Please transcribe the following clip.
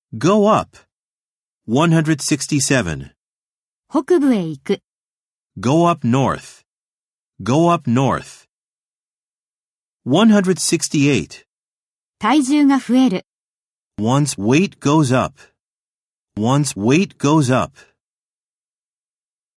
Go up. 167. 北部へ行く。 Go up north. Go up north. 168. 体重が増える。 One's weight goes up. One's weight goes up.